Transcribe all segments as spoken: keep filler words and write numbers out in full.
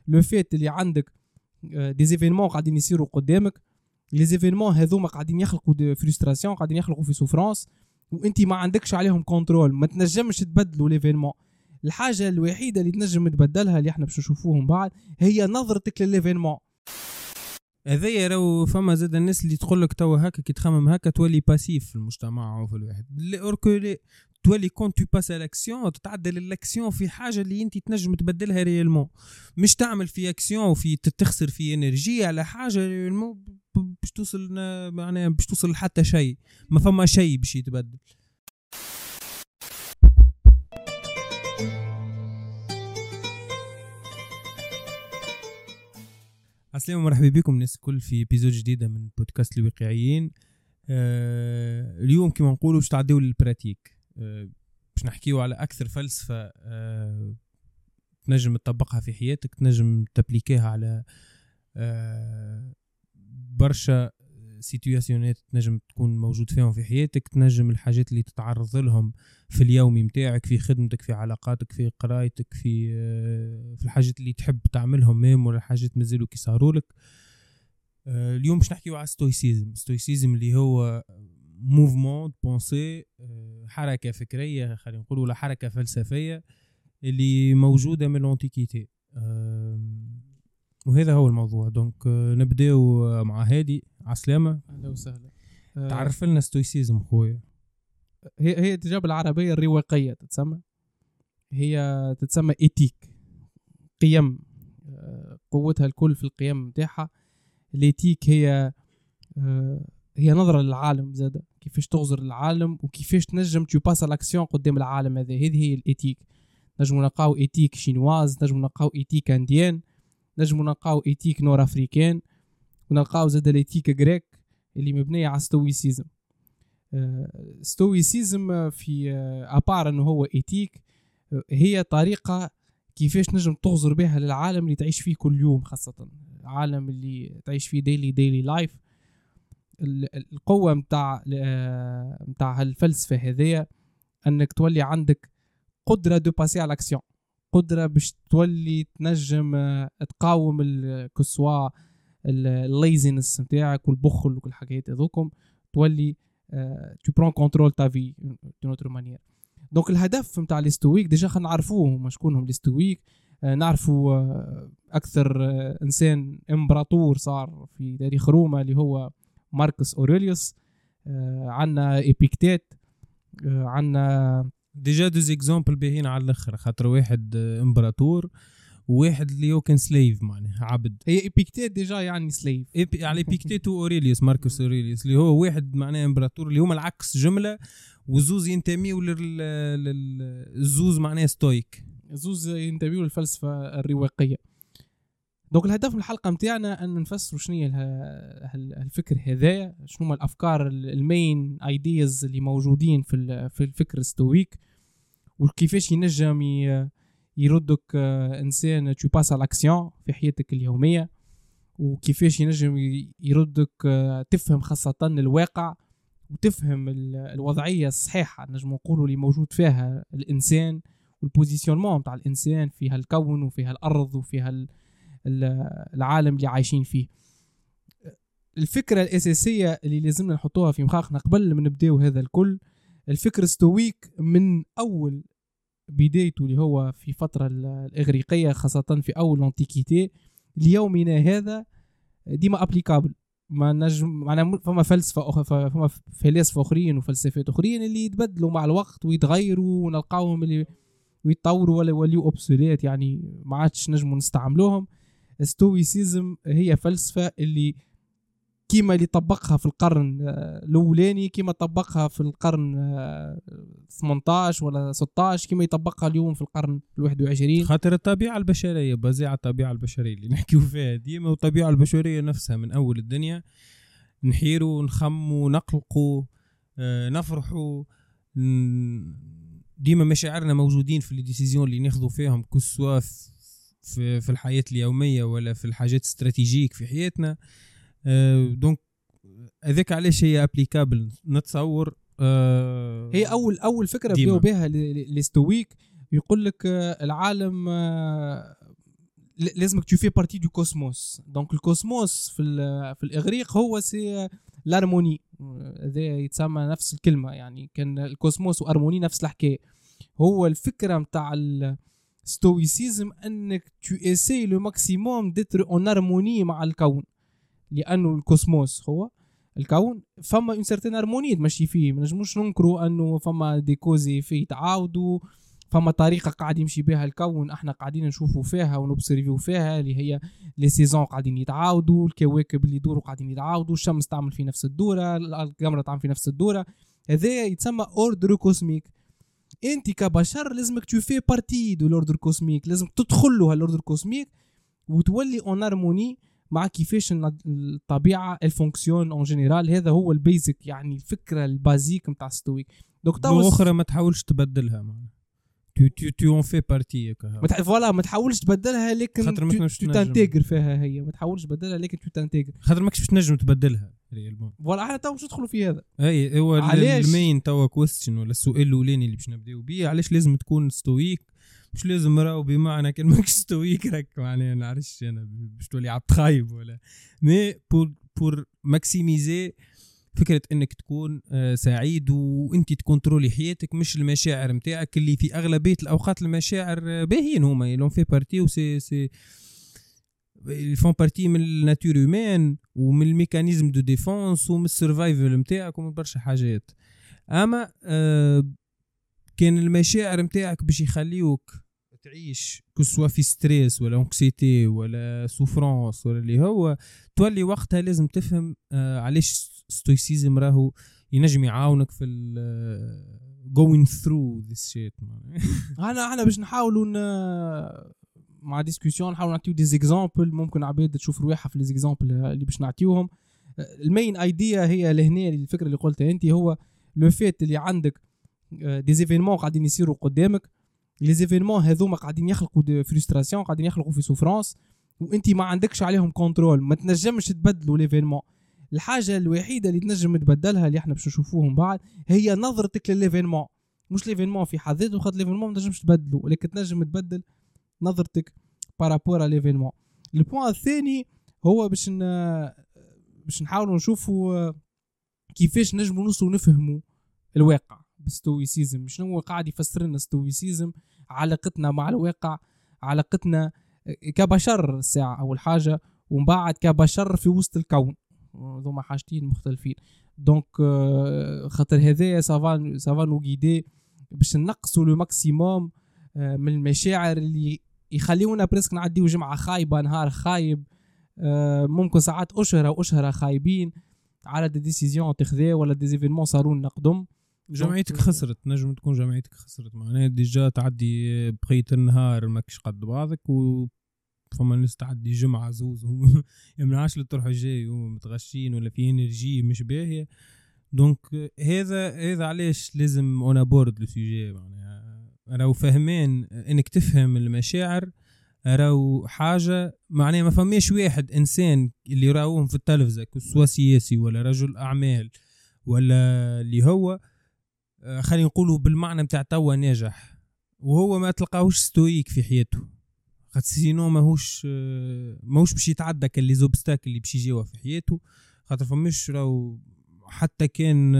لو فيت اللي عندك دي زيفينمون قاعدين يصيروا قدامك، لي زيفينمون هذوما قاعدين يخلقوا دي فرستراسيون، قاعدين يخلقوا في سوفرانس، وانت ما عندكش عليهم كنترول، ما تنجمش تبدلوا ليفينمون. الحاجه الوحيده اللي تنجم تبدلها اللي احنا باش نشوفوهم بعد هي نظرتك لليفينمون. هذايا راهو فما زاد الناس اللي تقول لك توا هكا كي تخمم هكا تولي باسيف في المجتمع وفي الواحد، اوركو تولي كون تو باس الاكسيون تتعدل الاكسيون في حاجه اللي انت تنجم تبدلها ريالمون، مش تعمل في اكسيون وفي تتخسر في انرجي على حاجه ريالمون باش توصل معناها باش توصل لحتى شيء، ما فما شيء باش يتبدل. السلام ومرحبا بكم الناس الكل في ابيزود جديده من بودكاست الواقعيين. آه اليوم كما نقولوا باش تعديو للبراتيك، آه باش نحكيو على اكثر فلسفه آه تنجم تطبقها في حياتك، تنجم تابليكيها على آه برشا سيتوياسيونات تنجم تكون موجود فيهم في حياتك، تنجم الحاجات اللي تتعرض لهم في اليومي متاعك، في خدمتك، في علاقاتك، في قرايتك، في في الحاجات اللي تحب تعملهم ميم ولا حاجات مازالوا كي صاروا لك. اليوم باش نحكيو على ستويسيزم. ستويسيزم اللي هو موفمون بونسي، حركه فكريه خلينا نقولوا ولا حركه فلسفيه اللي موجوده من الانتيكيتي، وهذا هو الموضوع. دونك نبداو مع هادي. عسلامة، اهلا وسهلا. تعرف لنا ستويسيزم خويا؟ هي هي تجاب العربيه الرواقيه تتسمى، هي تتسمى ايتيك، قيم، قوتها الكل في القيم نتاعها. الايتيك هي هي نظره للعالم، زاده كيفاش تغزر العالم وكيفاش تنجم تو باس الاكسيون قدام العالم هذا. هذه هي الايتيك. نجمو نلقاو ايتيك شينواز، نجمو نلقاو ايتيك انديان، نجمو نلقاو ايتيك نور افريكان، ونلقاو زاد الايتيك غريك اللي مبنيه على ستويسيزم. ستويسيزم في ابار انه هو ايتيك، هي طريقه كيفاش نجم تغزر بها للعالم اللي تعيش فيه كل يوم، خاصه العالم اللي تعيش فيه ديلي ديلي لايف. القوه متاع متاع هالفلسفه هذيا انك تولي عندك قدره دو باسي على الاكسيون، قدره باش تولي تنجم تقاوم الكسوا الليزينس نتاعك والبخل وكل الحاجات هذوكم، تولي tu prends contrôle ta vie d'une autre manière. دونك الهدف نتاع الاستويك ديجا خلينا نعرفوهم شكونهم الاستويك. نعرفوا اكثر انسان امبراطور صار في تاريخ روما اللي هو ماركوس اوريليوس. عندنا ايبيكتيت، عندنا ديجا دوز اكزامبل باهين على الاخر، خاطر واحد امبراطور وواحد اللي هو كان سليف معناها عبد. هي ايبيكتيت ديجا يعني سليف إيبي على ايبيكتيت واوريليوس ماركوس اوريليوس اللي هو واحد معناها امبراطور اللي هما العكس جمله، وزوز ينتميوا للزوز معناها ستويك، زوز ينتميوا للفلسفه الرواقيه. دونك الهدف من الحلقه نتاعنا ان نفسروا شنو هي الفكر هذايا، شنو هما الافكار المين ايدياز اللي موجودين في في الفكر الستويك، وكيفاش ينجم يردك انسان تو باس على الاكسيون في حياتك اليوميه، وكيفاش ينجم يردك تفهم خاصه الواقع وتفهم الوضعيه الصحيحه نجم نقولوا اللي موجود فيها الانسان، والبوزيشنمون تاع الانسان في هالكون وفي هالارض وفي هال العالم اللي عايشين فيه. الفكره الاساسيه اللي لازمنا نحطوها في مخاخنا قبل ما نبداو هذا الكل، الفكر الستويك من اول بدايته اللي هو في فترة الإغريقية خاصة في أول الانتيكيتي ليومنا هذا ديما أبليكابل. ما نجم معنا فما فلسفة أخرى، فما فلاسفة أخرين وفلسفات أخرين اللي يتبدلوا مع الوقت ويتغيروا ونلقاهم اللي ويتطوروا ولا يوليوا أوبسوليت، يعني ما عادش نجموا نستعملوهم. ستويسيزم هي فلسفة اللي كيما اللي طبقها في القرن الأولاني، كيما طبقها في القرن ثمانية عشر ولا ستة عشر، كيما يطبقها اليوم في القرن الواحد وعشرين. خاطر الطبيعة البشرية بزيعة الطبيعة البشرية اللي نحكيو فيها ديما، والطبيعة البشرية نفسها من أول الدنيا نحيروا نخموا نقلقوا نفرحوا، ديما مشاعرنا موجودين في الديسيزيون اللي ناخذوا فيهم كسوا في في الحياة اليومية ولا في الحاجات استراتيجيك في حياتنا. أه دونك هذاك علاش هي ابليكابل نتصور. أه هي اول اول فكره بداوا بها الاستويك، يقول لك العالم لازمك tu fais partie du cosmos. donc الكوسموس في في الاغريق هو سي لارموني، هذا يتسمى نفس الكلمه، يعني كان الكوسموس وارموني نفس الحكايه. هو الفكره نتاع الستويسيزم انك tu essayes le maximum d'être en harmonie مع الكون، لانه الكوسموس هو الكون فما اون سيرتين هارموني تمشي فيه. ما نجموش ننكروا انه فما دي كوزي فيه تعاودوا، فما طريقه قاعد يمشي بها الكون احنا قاعدين نشوفوا فيها ونوبسيرفيو فيها، اللي هي لي سيزون قاعدين يتعاودوا، الكواكب اللي يدوروا قاعدين يتعاودوا، الشمس تعمل في نفس الدوره، القمر تعمل في نفس الدوره. هذا يتسمى اوردر كوسميك. انت كبشر لازمك تو في بارتي دو الاوردر كوسميك، لازم تدخل له هالاوردر كوسميك وتولي اون هارموني مع كيفاش الطبيعه الفونكسيون اون جينيرال. هذا هو البيزك، يعني الفكره البازيك نتاع ستويك. دونك اخرى ما تحاولش تبدلها معنا، tu tu tu en fais partie كا فوالا. ما تحاولش تبدلها لكن تو تانتيغر فيها، هي ما تحاولش تبدلها لكن تو تانتيغر، خاطر ماكش باش تنجم تبدلها ريالمون. فوالا احنا تو باش ندخلوا في هذا. اي هو المين توا كويستشن ولا السؤال الاولاني اللي باش نبداو بيه، علاش لازم تكون ستويك؟ مش لازم راهو بمعنى كان ماكش ستويك راك معناها نعرفش انا باش تولي عبد خايب ولا مي بور بور ماكسيميزي فكرة انك تكون سعيد وانت تكنترولي حياتك، مش المشاعر متاعك اللي في اغلبية الاوقات المشاعر باهيين هما يلون في بارتي وسي سي الفون بارتي من الناتور هيومان ومن الميكانيزم دو ديفونس ومن السرفايفل متاعك ومن برشا حاجات. اما آه كان المشاعر متاعك باش يخليوك تعيش كسوا في ستريس ولا انكسيتي ولا سوفرانس ولا اللي هو، تولي وقتها لازم تفهم آه علاش ستويسيزم راهو ينجم يعاونك في ال going through this shit. انا انا باش نحاولوا مع ديسكوسيون نحاول نعطيو دي زيكزامبل، ممكن عباد تشوف رواحها في لي زيكزامبل اللي باش نعطيوهم. المين ايديا هي لهنا الفكره اللي قلتها انت، هو لو فيت اللي عندك دي زيفينمون قاعدين يصيروا قدامك، لي زيفينمون هذوما قاعدين يخلقوا دي فرستراسيون، قاعدين يخلقوا في سوفرانس، وانت ما عندكش عليهم كنترول، ما تنجمش تبدلوا ليفينمون. الحاجه الوحيده اللي تنجم تبدلها اللي احنا باش نشوفوهم بعد هي نظرتك لليفينمون، مش ليفينمون في حد ذاته، خاطر ليفينمون ما تنجمش تبدله، ولكن تنجم تبدل نظرتك بارابور على ليفينمون. البوان الثاني هو باش ن... باش نحاولوا نشوفوا كيفاش نجموا نوصلوا نفهموا الواقع بالستويسيزم. شنو هو قاعد يفسر لنا ستويسيزم؟ علاقتنا مع الواقع، علاقتنا كبشر الساعه اول حاجه، ومن بعد كبشر في وسط الكون، هذوما حاجتين مختلفين. دونك خاطر هذايا سافان سافان وغيدي باش نقصوا لو ماكسيموم من المشاعر اللي يخليونا بريسك نعديو جمعه خايبه، نهار خايب، ممكن ساعات اشهر واشهر خايبين على دي ديسيزيون تاخذها ولا دي زيفينمون صاروا لنا قدم. جمعيتك خسرت، نجم تكون جمعيتك خسرت، معناها ديجا تعدي بقيه النهار ماكش قد بعضك، و فما ناس تعدي جمعه زوز يمنعش للطرح الجاي ومتغشين ولا في انرجي مش باهيه. دونك هذا هذا علاش لازم اون بورد لو سوجي، معناها راهو فاهمين انك تفهم المشاعر، راهو حاجه معناها ما فماش واحد انسان اللي راهوهم في التلفزه كسوا سياسي ولا رجل اعمال ولا اللي هو خلينا نقولوا بالمعنى متاع توا ناجح وهو ما تلقاهوش ستويك في حياته، خاطر سينو ماهوش ماهوش باش يتعدى كل لي زوبستاكل اللي باش يجيوه في حياته. خاطر فماش راهو حتى كان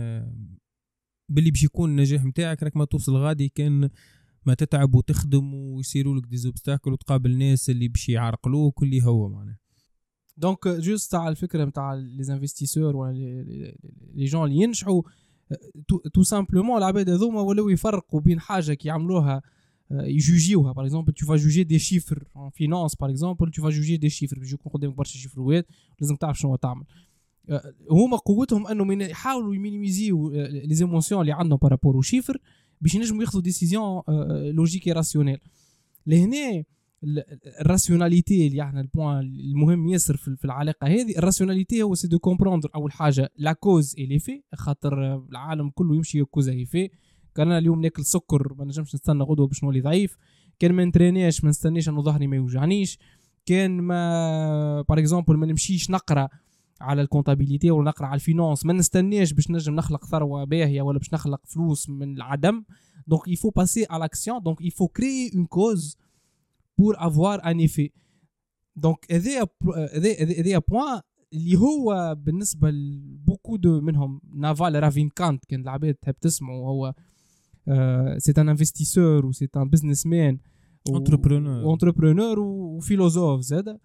باللي باش يكون النجاح نتاعك راك ما توصل غادي كان ما تتعب وتخدم ويصيروا لك دي زوبستاكل وتقابل ناس اللي باش يعرقلوك واللي هو معناه. دونك جوست على الفكره نتاع لي انفستيسور ولا لي جون اللي ينجحوا تو سامبلومون العباد هذوما ولاو يفرقوا بين حاجه كيعملوها يجوجيوها. باغ اكزومبل تو فا جوجي دي شيفر ان فينانس، باغ اكزومبل تو فا جوجي دي شيفر باش يكون قدامك برشا شيفروات لازم تعرف شنو تعمل. هما قوتهم انه من يحاولوا يمينيميزيو لي زيموسيون اللي عندهم بارابور او شيفر باش ينجموا ياخذوا ديسيزيون لوجيكي راسيونيل. لهنا الراسيوناليتي اللي احنا البوان المهم ياسر في العلاقه هذه، الراسيوناليتي هو سي دو كومبروندر اول حاجه لا كوز اي لي في، خاطر العالم كله يمشي كوز اي في. كان انا اليوم ناكل سكر ما نجمش نستنى غدوه باش نولي ضعيف، كان ما نترينيش ما نستنيش انه ظهري ما يوجعنيش، كان ما باغ اكزومبل ما نمشيش نقرا على الكونتابيليتي ولا نقرا على الفينانس ما نستنيش باش نجم نخلق ثروه باهيه ولا باش نخلق فلوس من العدم. دونك il faut passer à l'action, donc il faut créer une cause pour avoir un effet. donc هذا هذا بوين اللي هو بالنسبه لبوكو دو منهم. نافال رافينكانت كان العباد تحب تسمعه، هو سي ان انفستيسور و سي ان بزنسمان انتربرونور انتربرونور وفيلوزوف زاد،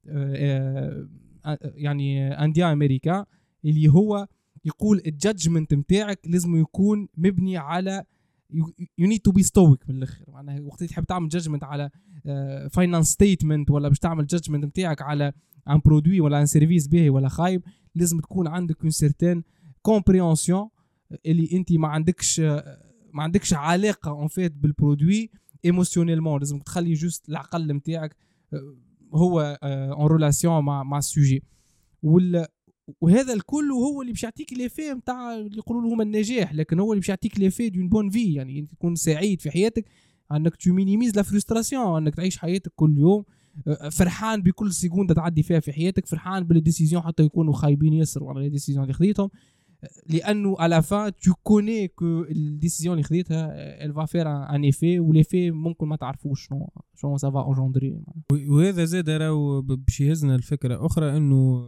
يعني انديان امريكان، اللي هو يقول الجادجمنت نتاعك لازم يكون مبني على you need to be stoic من الاخر. معناها وقت اللي تحب تعمل جادجمنت على فاينانس ستيتمنت ولا باش تعمل جادجمنت نتاعك على ان برودوي ولا ان سيرفيس باهي ولا خايب، لازم تكون عندك اون سيرتين كومبريهنسيون اللي انت ما عندكش ما عندكش علاقه اون فيت بالبرودوي ايموشنيلمون. لازم تخلي جوست العقل نتاعك هو اون ريلاسيون مع مع السوجي. وهذا الكل هو اللي باش يعطيك ليفي نتاع اللي يقولوا لهم النجاح، لكن هو اللي باش يعطيك ليفي دون بون في. يعني انت تكون سعيد في حياتك، انك تو مينيميز لا فرستراسيون، انك تعيش حياتك كل يوم فرحان بكل سكوند تعدي فيها في حياتك، فرحان بالديسيزيون حتى يكونوا خايبين ياسر على الديسيزيون اللي خديتهم، لانه على فان تو كوني كو الديسيزيون اللي خديتها elle va faire un effet وليفي ممكن ما تعرفوش شنو شنو ça va engendrer. وهذا زاد راهو باش يهزنا الفكره اخرى انه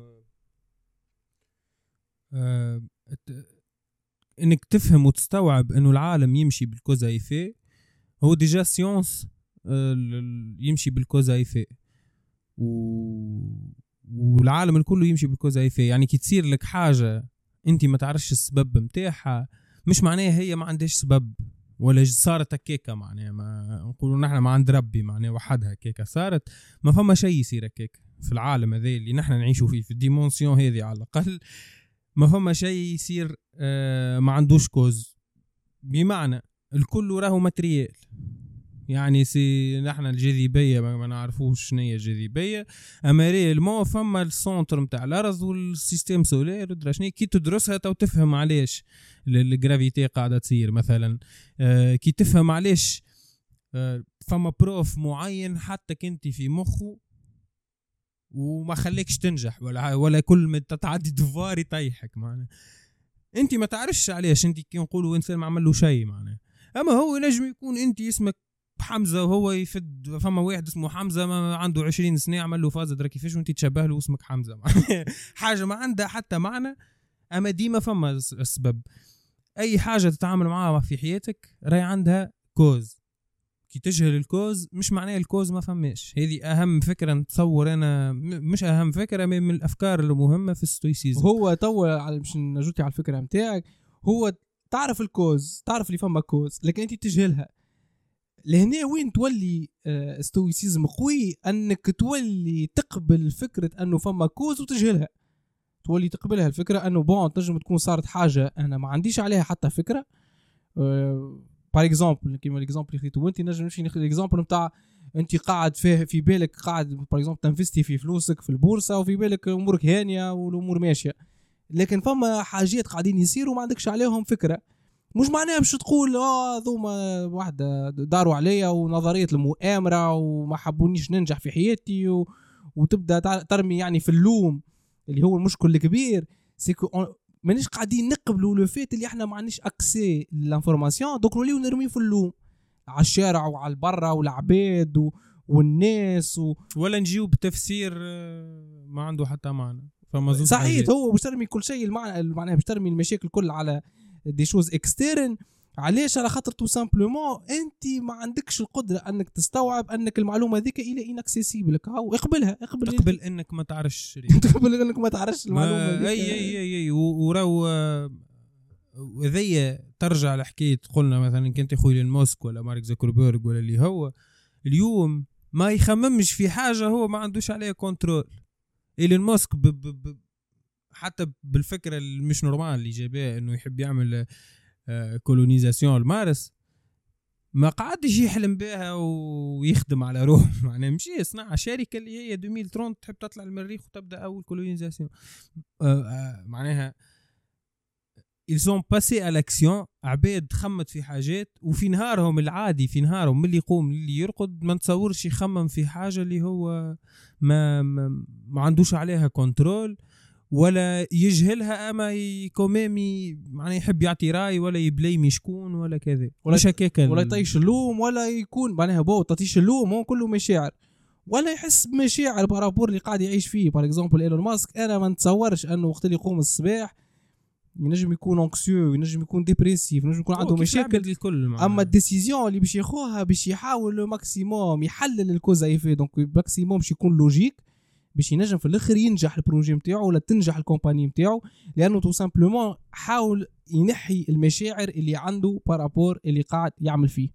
آه انك تفهم وتستوعب انه العالم يمشي بالكوزا ايفي. هو ديجا سيونس آه يمشي بالكوزا ايفي و... والعالم الكل يمشي بالكوزا ايفي. يعني كي تصير لك حاجه انت ما تعرفش السبب متاعها، مش معناها هي ما عندهاش سبب ولا صارت هكاكا. معناها ما نقولوا نحن ما عند ربي معناها وحدها هكاكا صارت، ما فما شيء يصير هكاكا في العالم هذا اللي نحن نعيشوا فيه في الديمونسيون هذه. على الاقل ما فما شيء يصير آه ما عندوش كوز. بمعنى الكل راهو ماتريال. يعني سي نحن الجاذبيه ما نعرفوش شنو هي الجاذبيه، اما ريالمون فما السونتر نتاع الارض والسيستم سولير ودرا شنو. كي تدرسها تو تفهم علاش الجرافيتي قاعده تصير مثلا. آه كي تفهم علاش آه فما بروف معين حتى كنتي في مخه وما خليكش تنجح ولا ولا كل ما تتعدي دفار يطيحك. معناه انت ما تعرفش علاش، انت كي نقولوا انسان ما عمل له شيء معناه. اما هو نجم يكون انت اسمك حمزه وهو يفد، فما واحد اسمه حمزه ما عنده عشرين سنه عمل له فاز درا كيفاش وانت تشبه له اسمك حمزه. حاجه ما عندها حتى معنى، اما ديما فما السبب. اي حاجه تتعامل معها في حياتك راهي عندها كوز. كي تجهل الكوز مش معناه الكوز ما فماش. هذه اهم فكره نتصور انا، مش اهم فكره من الافكار المهمه في الستويسيزم. هو تو على باش نجوتي على الفكره نتاعك، هو تعرف الكوز، تعرف اللي فما كوز، لكن انت تجهلها. لهنا وين تولي ستويسيزم قوي، انك تولي تقبل فكره انه فما كوز وتجهلها. تولي تقبلها الفكره انه بون تنجم تكون صارت حاجه انا ما عنديش عليها حتى فكره. أه بار اكزومبل كيما الاكزومبل اللي خديته وانت، نجم نمشي ناخذ الاكزومبل نتاع انت قاعد فيه في بالك، قاعد بار اكزومبل تنفستي في فلوسك في البورصه وفي بالك امورك هانيه والامور ماشيه، لكن فما حاجات قاعدين يصيروا ما عندكش عليهم فكره. مش معناها باش تقول اه ذوما واحده داروا عليا ونظريه المؤامره وما حبونيش ننجح في حياتي و... وتبدا ترمي يعني في اللوم اللي هو المشكل الكبير. سيكو مانيش قاعدين نقبلوا لو فيت اللي احنا ما عندناش اكسي للانفورماسيون، دوك نوليو نرمي في اللوم على الشارع وعلى البرة والعباد و... والناس و... ولا نجيو بتفسير ما عنده حتى معنى. فما صحيح هو باش ترمي كل شيء المعنى معناها باش ترمي المشاكل كل على دي شوز اكسترن. علاش؟ على خاطر تو سامبلومون انت ما عندكش القدره انك تستوعب انك المعلومه ذيك الى انكسيسيبل. هاو اقبلها، اقبل تقبل انك ما تعرفش تقبل انك ما تعرفش المعلومه ذيك. اي اي اي, أي. وراو وذي ترجع لحكايه قلنا مثلا كنت اخوي لين موسك ولا مارك زوكربيرغ ولا اللي هو اليوم ما يخممش في حاجه هو ما عندوش عليها كنترول. ايلون ماسك ب ب ب حتى بالفكره المش نورمال اللي جابها انه يحب يعمل كولونيزاسيون المارس، ما قعدش يحلم بها ويخدم على روحه. معناه مشي يصنع شركه اللي هي ألفين وثلاثين تحب تطلع للمريخ وتبدا اول كولونيزاسيون. معناها ils sont passés à l'action. عباد خمت في حاجات وفي نهارهم العادي، في نهارهم اللي يقوم اللي يرقد ما نتصورش يخمم في حاجه اللي هو ما ما, ما عندوش عليها كنترول. ولا يجهلها اما يكوميمي معناه يحب يعطي راي ولا يبليمي شكون ولا كذا ولا مش هكاك ولا يطيش اللوم ولا يكون معناها بو تطيش اللوم هو كله مشاعر ولا يحس بمشاعر بارابور اللي قاعد يعيش فيه. بار اكزومبل ايلون ماسك انا ما نتصورش انه وقت اللي يقوم الصباح ينجم يكون انكسيو ينجم يكون ديبريسيف ينجم يكون عنده مشاكل الكل اما الديسيزيون اللي باش ياخوها باش يحاول لو ماكسيموم يحلل الكوزا يفي دونك ماكسيموم باش يكون لوجيك باش ينجم في الاخر ينجح البروجي نتاعو ولا تنجح الكومباني نتاعو لانه تو سامبلومون حاول ينحي المشاعر اللي عنده بارابور اللي قاعد يعمل فيه.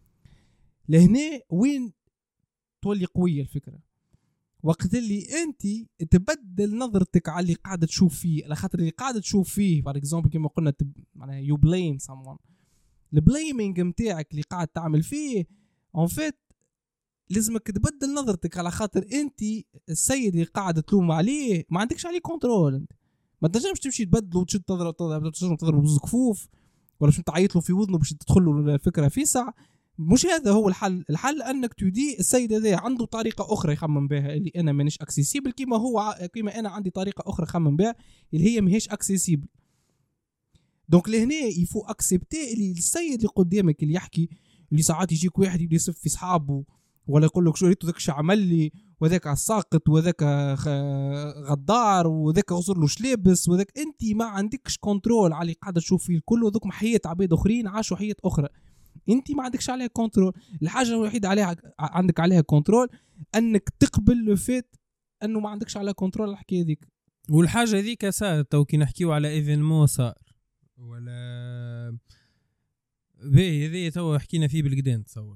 لهنا وين تولي قويه الفكره وقت اللي انت تبدل نظرتك على اللي قاعد تشوف فيه على خاطر اللي قاعد تشوف فيه بار اكزومبل كما قلنا تب... معناها يو بليم someone البليمينج نتاعك اللي قاعد تعمل فيه اون فيت لازمك تبدل نظرتك على خاطر انت السيد اللي قاعد تلوم عليه ما عندكش عليه كنترول. انت ما تنجمش تمشي تبدله وتشد تضرب تضرب تضرب بزوز كفوف ولا باش تعيط له في وذنه باش تدخل له الفكره في ساعه. مش هذا هو الحل. الحل انك تدي السيد هذا عنده طريقه اخرى يخمم بها اللي انا مانيش اكسيسيبل كيما هو كيما انا عندي طريقه اخرى يخمم بها اللي هي ماهيش اكسيسيبل. دونك لهنا يفو اكسبتي اللي السيد اللي قدامك اللي يحكي اللي ساعات يجيك واحد يبدا يصف في صحابه ولا يقول لك شو ريتو ذاك عمل لي وذاك ساقط وذاك غدار وذاك غزر له شلابس وذاك انت ما عندكش كنترول على اللي قاعده تشوف فيه الكل وذوك حياه عباد اخرين عاشوا حياه اخرى انت ما عندكش عليها كنترول. الحاجه الوحيده عليها عندك عليها كنترول انك تقبل لو فيت انه ما عندكش عليها كنترول الحكايه هذيك. والحاجه هذيك صارت تو كي نحكيو على ايفينمون صار ولا باهي هذه تو حكينا فيه بالقدام تصور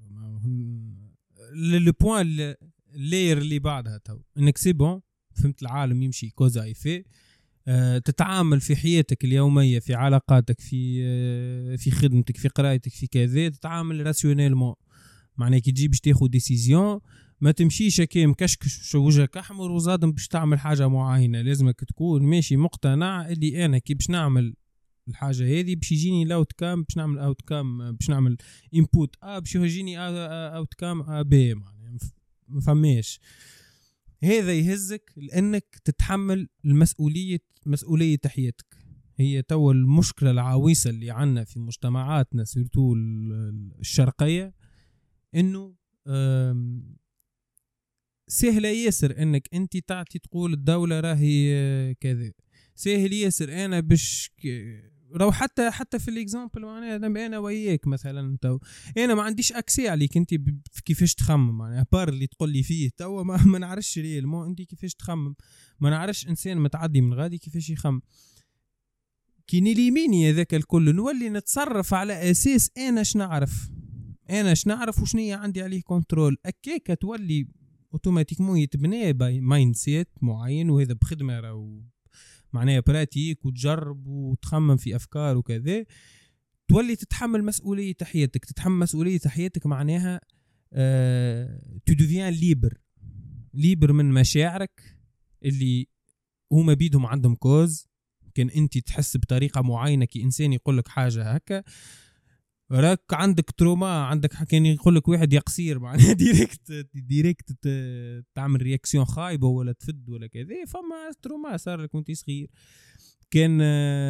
لو بوين اللير اللي بعدها تو انك سي بون فهمت العالم يمشي كوزا ايفي أه تتعامل في حياتك اليوميه في علاقاتك في أه في خدمتك في قرايتك في كذا تتعامل راسيونيلمون معناه كي تجي باش تاخذ ديسيزيون ما تمشيش كي مكشكش وجهك احمر وزادم باش تعمل حاجه معينه. لازمك تكون ماشي مقتنع اللي انا كي باش نعمل الحاجه هذه باش يجيني لاوت كام باش نعمل اوت كام باش نعمل انبوت ا باش يجيني اوت كام بي معناه ما فماش. هذا يهزك لانك تتحمل المسؤوليه مسؤوليه حياتك. هي تو المشكله العويصه اللي عندنا في مجتمعاتنا سيرتو الشرقيه انه سهله ياسر انك انت تعطي تقول الدوله راهي كذا سهل ياسر انا باش لو حتى حتى في الاكزامبل معناها انا وياك مثلا تو انا ما عنديش اكسي عليك انت كيفاش تخمم معناها بار اللي تقول لي فيه تو ما, ما نعرفش ليه المو انت كيفاش تخمم ما نعرفش انسان متعدي من غادي كيفاش يخمم كي نليميني هذاك الكل نولي نتصرف على اساس انا اش نعرف انا اش نعرف وشنية عندي عليه كنترول اكيكا تولي اوتوماتيكمون يتبنى باي مايند سيت معين وهذا بخدمه راهو معناها براتيك وتجرب وتخمم في أفكار وكذا تولي تتحمل مسؤولية حياتك. تتحمل مسؤولية حياتك معناها أه... تدوفيان ليبر ليبر من مشاعرك اللي هما بيدهم عندهم كوز. كان انت تحس بطريقة معينة كي إنسان يقولك حاجة هكا راك عندك تروما عندك كان يقولك واحد يقصير معناها ديريكت ديريكت تعمل رياكسيون خايبة ولا تفد ولا كذا فما تروما صار لك وانت صغير. كان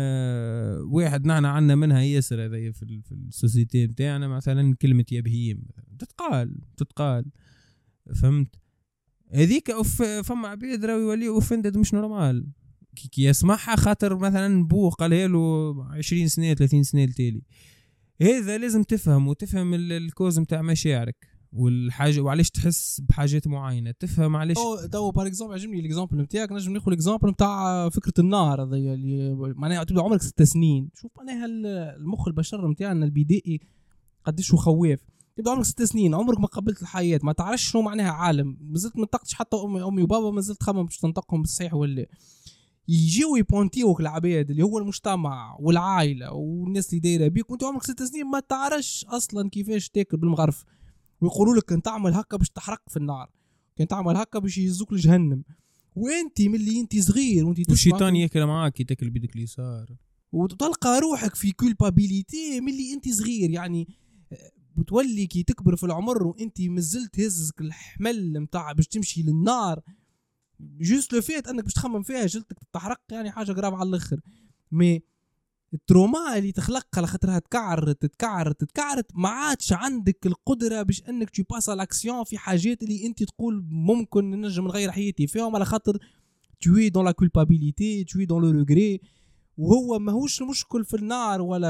واحد نحنا عنا منها ياسر هذا في في السوسيتي بتاعنا مثلا كلمة يا بهيم تتقال تتقال فهمت هذيك فما عبيد راهو يولي اوفندد مش نورمال كي يسمعها خاطر مثلا بو قالها له عشرين سنة ثلاثين سنة التالي. هذا لازم تفهم وتفهم الكوز متاع مشاعرك والحاجه وعلاش تحس بحاجات معينه تفهم علاش. او تو بار اكزومبل عجبني الاكزامبل نتاعك نجم ناخذ الاكزامبل نتاع فكره النار هذه اللي معناها تبدا عمرك ست سنين. شوف معناها المخ البشر نتاعنا البدائي قديش هو خواف. تبدا عمرك ست سنين عمرك ما قبلت الحياه ما تعرفش شنو معناها عالم مازلت ما نطقتش حتى امي امي وبابا مازلت تخمم باش تنطقهم بالصحيح ولا يجيو يبونتيوك العباد اللي هو المجتمع والعائله والناس اللي دايره بيك وانت عمرك ست سنين ما تعرفش اصلا كيفاش تاكل بالمغرف ويقولوا لك كان تعمل هكا باش تحرق في النار كان تعمل هكا باش يهزوك لجهنم وانت ملي انت صغير وانت والشيطان ياكل معاك كي تاكل بيدك اليسار وتلقى روحك في كولبابيليتي ملي انت صغير. يعني بتولي كي تكبر في العمر وانت مازلت هزك الحمل متاع باش تمشي للنار جوست لو فيت انك باش تخمم فيها جلدك تتحرق يعني حاجه غراب على الاخر. مي التروما اللي تخلق على خاطرها تكعر تتكعر تتكعر ما عادش عندك القدره باش انك تي باس الاكسيون في حاجات اللي انت تقول ممكن ننجم نغير حياتي فيهم، على خاطر توي دون لا كولبابيليتي توي دون لو ريغري. وهو ماهوش المشكل في النار ولا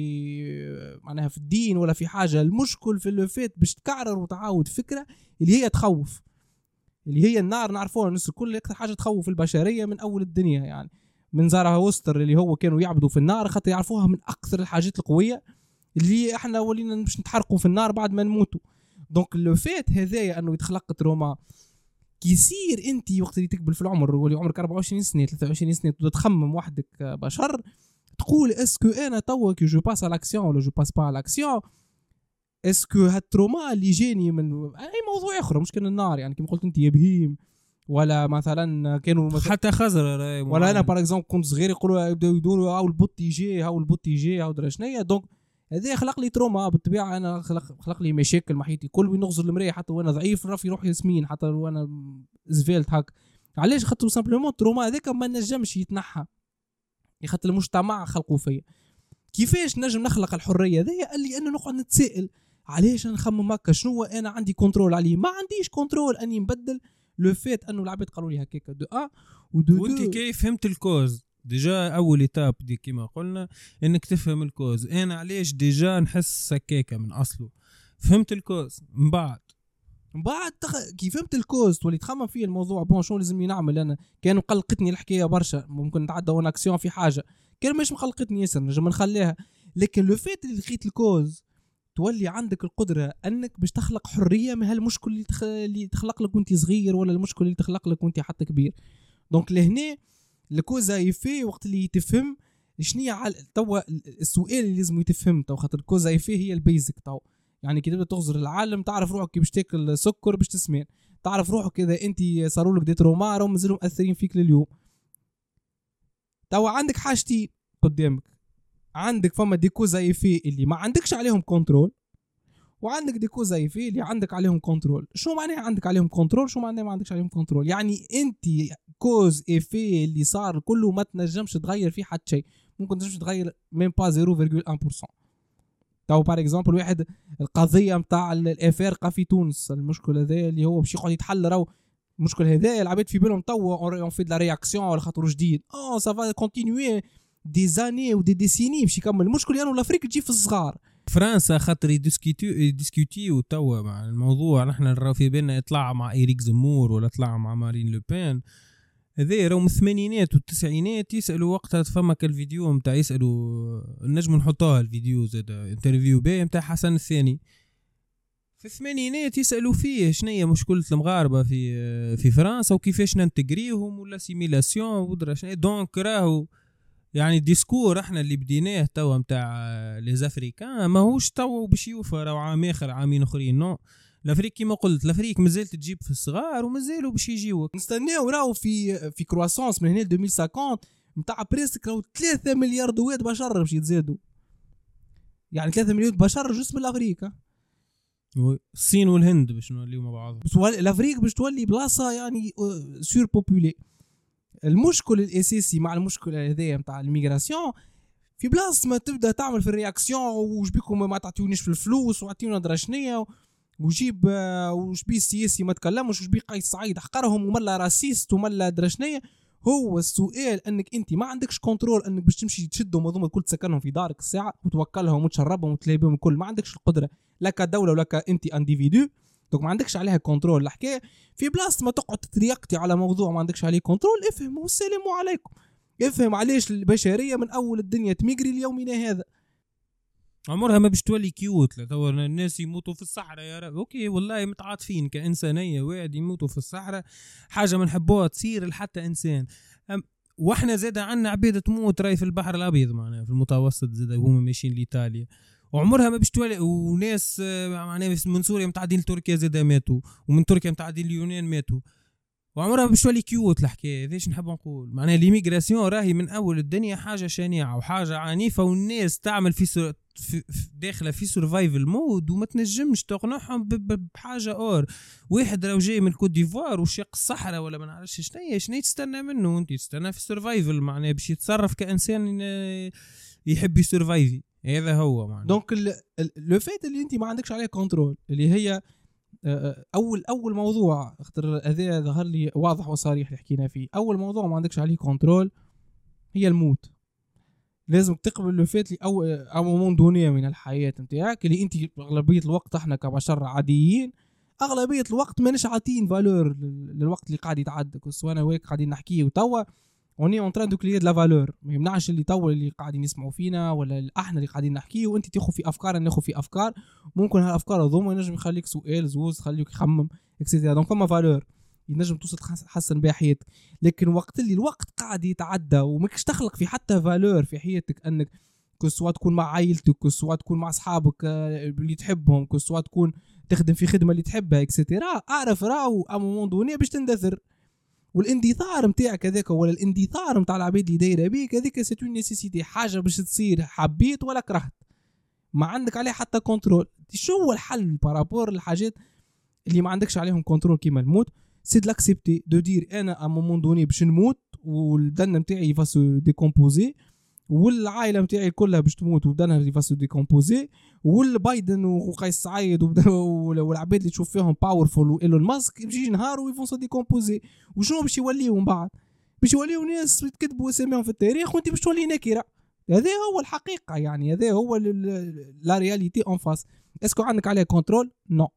في معناها في الدين ولا في حاجه، المشكل في لو فيت باش تكعر وتعاود فكره اللي هي تخوف، اللي هي النار. نعرفوها الناس الكل اكثر حاجه تخوف البشريه من اول الدنيا، يعني من زارها وستر اللي هو كانوا يعبدوا في النار خاطر يعرفوها من اكثر الحاجات القويه اللي احنا ولينا باش نتحرقوا في النار بعد ما نموتوا. دونك لو فيت هذايا انه يتخلق تروما كي يصير انت وقت اللي تقبل في العمر واللي عمرك أربعة وعشرين سنه ثلاثة وعشرين سنه تبدا تخمم وحدك بشر، تقول اسكو انا توا كي جو باس على لاكسيون ولا جو باس با على لاكسيون، اسكو هالتروما اللي جاني من اي موضوع اخر مش كان النار، يعني كما قلت انت يا بهيم ولا مثلا كانوا مثلا حتى خزر ولا انا باغ اكزومبل كنت صغير يقولوا يبداو يدوروا هاو البوت يجي هاو البوت يجي هاو درا شنيا. دونك هذا خلق لي تروما بالطبيعه، انا خلق, خلق لي مشاكل مع حياتي كل وين نغزر المرايه حتى وانا ضعيف رافي روحي سمين حتى وانا زفيلت هاك. علاش؟ خاطر سامبلومون التروما هذاك ما نجمش يتنحى، خاطر المجتمع خلقوا فيا. كيفاش نجم نخلق الحريه هذيا؟ اللي انا نقعد نتسائل علاش نخمم هكا، شنو انا عندي كنترول عليه؟ ما عنديش كنترول اني نبدل لو فيت انه العباد قالوا لي هكاك دو ا ودو وانت كيف فهمت الكوز ديجا اول ايتاب دي كما قلنا انك تفهم الكوز. انا علاش ديجا نحس هكاكا من اصله فهمت الكوز من بعد من بعد تخ... كي فهمت الكوز تولي تخمم فيه الموضوع بون شنو لازم نعمل. انا كانوا قلقتني الحكايه برشا، ممكن نتعدى اون اكسيون في حاجه كان مش مقلقتني ياسر نجم نخليها، لكن لو فيت اللي لقيت الكوز تولي عندك القدره انك باش تخلق حريه من هالمشكل اللي, تخ... اللي تخلق لك وانت صغير ولا المشكل اللي تخلق لك وانت حتى كبير. دونك لهنا الكوزا يفي وقت اللي تفهم شنية على توا السؤال اللي لازم يتفهم تو، خاطر الكوزا يفي هي البيزك تو. يعني كي تبدا تغزر العالم تعرف روحك كي باش تاكل سكر باش تسمن، تعرف روحك كذا انت صاروا لك دي تروما راهم مازالوا مأثرين فيك لليوم. تو عندك حاجتين قدامك، عندك فما دي كوزا يفي اللي ما عندكش عليهم كنترول، وعندك دي كوزا يفي اللي عندك عليهم كنترول. شو معناها عندك عليهم كنترول؟ شو معناها ما عندكش عليهم كنترول؟ يعني انت كوز ايفي اللي صار كله ما تنجمش تغير فيه حتى شيء، ممكن تنجمش تغير ميم با صفر فاصلة واحد بالمية. تو بار اكزومبل واحد القضيه نتاع الافارقه في تونس، المشكل هذا اللي هو باش يقعد يتحل، راهو المشكل هذا العباد في بالهم تو اون في لا رياكسيون ولا خاطر جديد اه سا فا كونتينيوي دي زاني ودي ديسيني باش يكمل. المشكل يعني الافريق تجي في الصغار. فرنسا خاطر يديسكوتيو يديسكوتيو توا مع الموضوع، نحن نراو في بالنا يطلع مع إيريك زمور ولا طلع مع مارين لوبين، هذا راهو من الثمانينات والتسعينات يسالوا وقتها. فما الفيديو نتاع يسالوا نجم نحطوها الفيديو زاد انترفيو باهي نتاع حسن الثاني في الثمانينات يسالوا فيه شنية مشكله المغاربه في في فرنسا وكيفاش ننتجريهم ولا سيميلاسيون ودرا شنو. دونك راهو يعني الديسكور احنا اللي بديناه توا نتاع لي زافريكان ماهوش توا باش يوفى راهو عام اخر عامين اخرين. نو الافريق كيما قلت الافريق مازال تجيب في الصغار ومازالوا باش يجيوك. نستناو راهو في في كرواسونس من هنا ل ألفين وخمسين نتاع بريسك راهو ثلاثة مليار دوات بشر باش يتزادوا، يعني ثلاثة مليار بشر جسم الافريقيا. الصين والهند باش نوليو مع بعض، بس الافريق باش تولي بلاصه يعني سور بوبولي. المشكل الاساسي مع المشكل هذايا نتاع الميغراسيون في بلاصه ما تبدا تعمل في الرياكسيون وش بيكم ما تعطيونيش في الفلوس وعطيونا درشنيه وجيب وش بي السياسي ما تكلمش وش بي قيس سعيد حقرهم وملا راسيست وملا درشنيه. هو السؤال انك انت ما عندكش كنترول انك باش تمشي تشدهم هذوما الكل تسكنهم في دارك الساعه وتوكلهم وتشربهم وتلاقيهم الكل، ما عندكش القدره لا كدوله ولا كانت انديفيدو، دونك ما عندكش عليها كنترول. الحكايه في بلاصه ما تقعد تريقتي على موضوع ما عندكش عليه كنترول، افهم والسلام عليكم. افهم علاش البشريه من اول الدنيا تميجري ليومنا هذا. عمرها ما باش تولي كيوت. لا تو الناس يموتوا في الصحراء يا رب اوكي والله متعاطفين كانسانيه، واحد يموتوا في الصحراء حاجه ما نحبوها تصير لحتى انسان. واحنا زاد عنا عبيد تموت راي في البحر الابيض معناها في المتوسط زاد هما ماشيين لايطاليا، وعمرها ما باش تولي. وناس معناها من سوريا متعدين لتركيا زاد ماتوا، ومن تركيا متعدين لليونان ماتوا. وعمرها باش تولي كيوت الحكايه. هذاش نحب نقول معناها ليميغراسيون راهي من اول الدنيا حاجه شنيعه وحاجه عنيفه، والناس تعمل في, سر... في... في داخله في سرفايفل مود وما تنجمش تقنعهم ب... ب... بحاجه اور. واحد لو جاي من الكوت ديفوار وشاق الصحراء ولا ما نعرفش شنو شنو تستنى منه، انت تستنى في السرفايفل معناها باش يتصرف كانسان يحب يسرفايفي. هذا هو معناها. دونك لو فات اللي انت ما عندكش عليه كنترول اللي هي اول اول موضوع اختر هذا ظهر لي واضح وصريح اللي حكينا فيه. اول موضوع ما عندكش عليه كنترول هي الموت. لازم تقبل لو فات لي او او مومون دونيه من الحياه نتاعك اللي انت اغلبيه الوقت احنا كبشر عاديين اغلبيه الوقت ماناش عاطين فالور للوقت اللي قاعد يتعدى. سواء انا وياك قاعدين نحكيه وتوا اوني اون تران دو كليير لا فالور. ما يمنعش اللي توا اللي قاعدين يسمعوا فينا ولا احنا اللي قاعدين نحكيه وانت تاخذ في افكار ناخذ في افكار. ممكن هالافكار هذوما ينجم يخليك سؤال زوز خليك يخمم اكسيتيرا. دونك فما فالور ينجم توصل تحسن بها حياتك. لكن وقت اللي الوقت قاعد يتعدى وماكش تخلق في حتى فالور في حياتك انك كسوا تكون مع عائلتك كسوا تكون مع اصحابك اللي تحبهم كسوا تكون تخدم في خدمه اللي تحبها اكسيتيرا، اعرف راهو ا مومون دوني باش تندثر. والاندثار نتاعك هذاك ولا الاندثار نتاع العباد اللي دايره بيك هذيك سي اون نيسيسيتي، حاجه باش تصير حبيت ولا كرهت ما عندك عليه حتى كنترول. شو هو الحل بارابور الحاجات اللي ما عندكش عليهم كنترول كيما الموت؟ سي دو لاكسبتي دو دير انا ا مومون دوني باش نموت والبدن نتاعي فاسو ديكومبوزي والعائله نتاعي كلها باش تموت وبدنها فاسو ديكومبوزي والبايدن وقيس سعيد والعباد اللي تشوف فيهم باورفول وايلون ماسك يمشي نهار ويفونسو ديكومبوزي. وشنو باش يوليو من بعد؟ باش يوليو ناس يتكتبوا اساميهم في التاريخ وانت باش تولي نكره. هذا هو الحقيقه يعني هذا هو لا رياليتي اون فاس. اسكو عندك عليه كنترول؟ نو.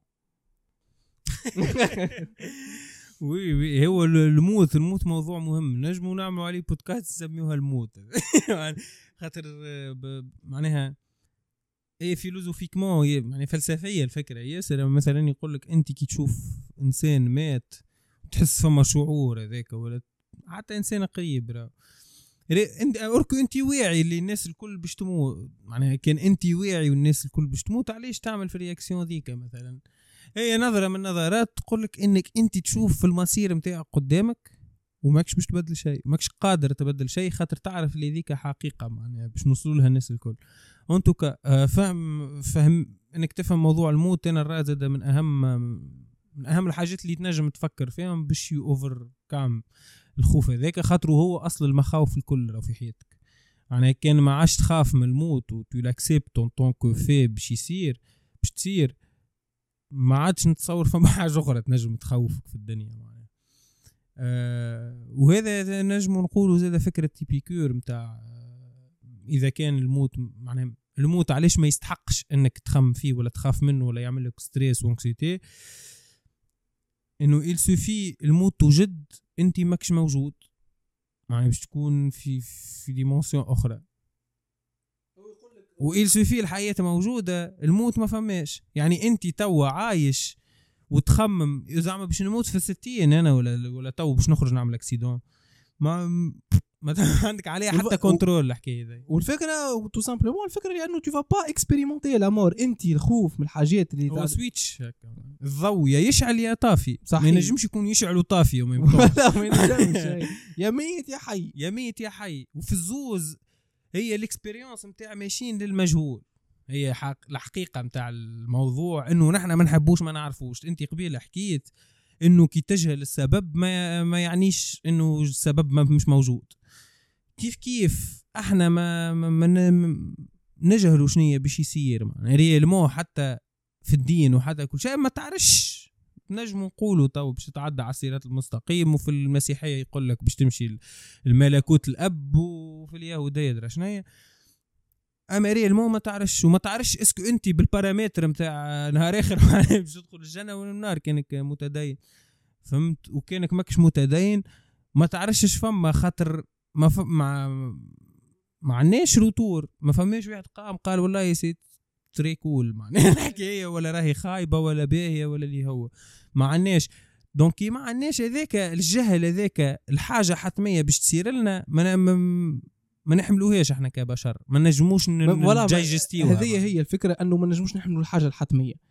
وي وي هو الموت الموت موضوع مهم نجموا نعملوا عليه بودكاست نسميوها الموت. خاطر معناها ايه فيلوزوفيكمون يعني فلسفيه الفكره ياسر. مثلا يقول لك انت كي تشوف انسان مات تحس فما شعور هذاك ولا حتى انسان قريب راه انت اوركو انت واعي اللي الناس الكل باش تموت معناها كان انت واعي والناس الكل باش تموت علاش تعمل في الرياكسيون ذيك؟ مثلا هي نظرة من نظرات تقولك انك انت تشوف في المسير متاعك قدامك وماكش باش تبدل شيء ماكش قادر تبدل شيء خاطر تعرف اللي ذيك حقيقة معناها باش نوصلوا لها الناس الكل. انتو فهم فهم انك تفهم موضوع الموت. انا الرازد من اهم من اهم الحاجات اللي تنجم تفكر فيهم باش يوفر كام الخوف هذاك خاطر هو اصل المخاوف الكل راه في حياتك. يعني كان ما عادش تخاف من الموت وتو لاكسبت اون طونكو في باش يصير باش تصير ما عادش نتصور فما حاجه اخرى تنجم تخوفك في الدنيا معناها. أه وهذا نجم نقولوا زاد فكره تيبيكور نتاع اذا كان الموت معناها الموت علاش ما يستحقش انك تخم فيه ولا تخاف منه ولا يعمل لك ستريس وانكسيتي. انه il suffit الموت توجد انت ماكش موجود معناها باش تكون في في ديمونسيون اخرى. وإل سوفي الحياة موجودة الموت ما فماش. يعني انت توا عايش وتخمم زعما باش نموت في الستين انا ولا ولا تو باش نخرج نعمل اكسيدون ما ما عندك عليها حتى كنترول الحكايه ذي. والفكره تو سامبلومون الفكره لانه تو فا با اكسبيريمونتي لا انت الخوف من الحاجات اللي هو سويتش الضوء يا يشعل يا طافي. صحيح. ما ينجمش يكون يشعل وطافي وما لا ما ينجمش يا ميت يا حي يا ميت يا حي. وفي الزوز هي الاكسبيرينس نتاع ماشيين للمجهول. هي حق الحقيقه نتاع الموضوع انه نحن ما نحبوش ما نعرفوش. انت قبيله حكيت انه كي تجهل السبب ما ما يعنيش انه السبب ما مش موجود. كيف كيف احنا ما ما نجهلوا شنو باش يصير يعني ريالمو حتى في الدين وحتى كل شيء ما تعرفش. نجم نقولوا تو باش تتعدى على الصراط المستقيم وفي المسيحيه يقول لك باش تمشي الملكوت الاب وفي اليهوديه درا شنو. اما ريالمو ما تعرفش وما تعرفش اسكو انت بالبارامتر نتاع نهار اخر باش تدخل الجنه ولا النار كانك متدين فهمت. وكانك ماكش متدين ما تعرفش فما خاطر ما ف... مع ما عندناش روتور. ما فماش واحد قام قال والله يا سيد تري كول معناها الحكايه ولا راهي خايبه ولا باهيه ولا اللي هو ما عندناش. دونك ما عندناش هذاك الجهل هذاك الحاجه حتميه باش تصير لنا ما ما نحملوهاش احنا كبشر ما نجموش نجايجستيوها. هذه هي الفكره انه ما نجموش نحملوا الحاجه الحتميه.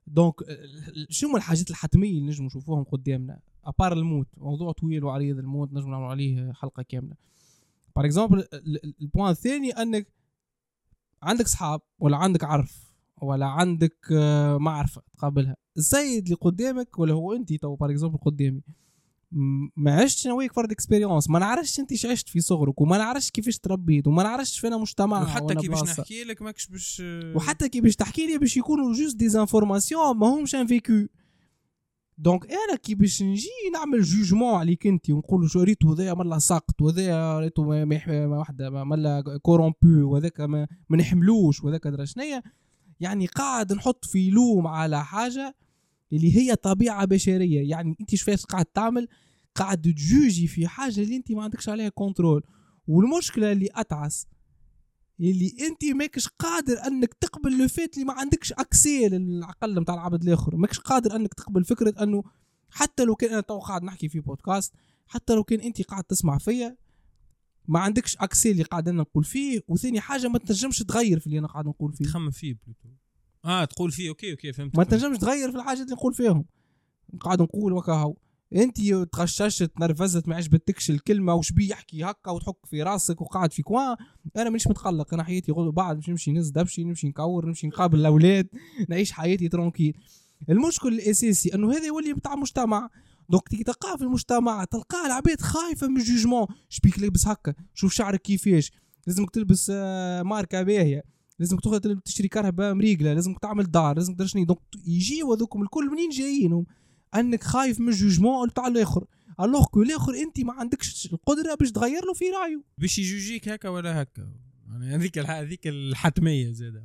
دونك شنو الحاجات الحتميه اللي نجم نشوفوهم قدامنا ابار الموت؟ موضوع طويل وعريض الموت نجم نعمل عليه حلقه كامله. بار اكزومبل البوان الثاني انك عندك صحاب ولا عندك عرف ولا عندك معرفه تقابلها، السيد اللي قدامك ولا هو انت تو بار اكزومبل قدامي ما عشتش انا وياك فرد اكسبيريونس، ما نعرفش انت ايش عشت في صغرك وما نعرفش كيفاش تربيت وما نعرفش فينا مجتمع، وحتى كي باش نحكي لك ماكش باش وحتى كي باش تحكي لي باش يكونوا جوست دي انفورماسيون ما همش ان فيكو. دونك انا كي باش نجي نعمل جوجمون عليك انت ونقول شو ريتو هذايا مالا ساقط وهذايا ريتو ما وحده مالا كورومبو وهذاك ما, ما نحملوش وهذاك درا شنيا، يعني قاعد نحط في لوم على حاجه اللي هي طبيعه بشريه. يعني انت شفاش قاعد تعمل؟ قاعد تجوجي في حاجه اللي انت ما عندكش عليها كنترول. والمشكله اللي اتعس اللي انت ماكش قادر انك تقبل لو فيت اللي ما عندكش اكسي للعقل نتاع العبد الاخر، ماكش قادر انك تقبل فكره انه حتى لو كان انا تو قاعد نحكي في بودكاست، حتى لو كان انت قاعد تسمع فيا ما عندكش اكسي اللي قاعد انا نقول فيه. وثاني حاجه ما تنجمش تغير في اللي انا قاعد نقول فيه، تخمم فيه بلوتو اه تقول فيه اوكي اوكي فهمت. ما تنجمش تغير في الحاجات اللي نقول فيهم. قاعد نقول وكاهو انت تغششت نرفزت ما عجبتكش الكلمه وش بي يحكي هكا وتحك في راسك وقاعد في كوان. انا مانيش متقلق، انا حياتي غدو بعد باش نمشي نز دبشي نمشي نكور نمشي نقابل الاولاد نعيش حياتي ترونكيل. المشكل الاساسي انه هذا يولي بتاع مجتمع. دونك تيجي تلقاه في المجتمع تلقاه العباد خايفه من الجوجمون، شبيك لابس هكا، شوف شعرك كيفاش، لازمك تلبس ماركه باهيه، لازمك تاخذ تشتري كهرباء مريقله، لازمك تعمل دار، لازمك تدير شنو. دونك يجيو هذوكم الكل منين جايينهم؟ انك خايف من الجوجمون تاع الاخر، الوغ كو الاخر انت ما عندكش القدره باش تغير له في رايه باش يجوجيك هكا ولا هكا. يعني هذيك هذيك الحتميه زاده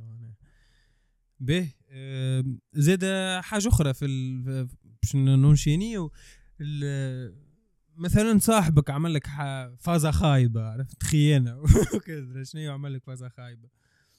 به. زاده حاجه اخرى في باش نونشينيو مثلا صاحبك عمل لك فازه خايبه، عرفت خيانه وكذا شنو عمل لك فازه خايبه.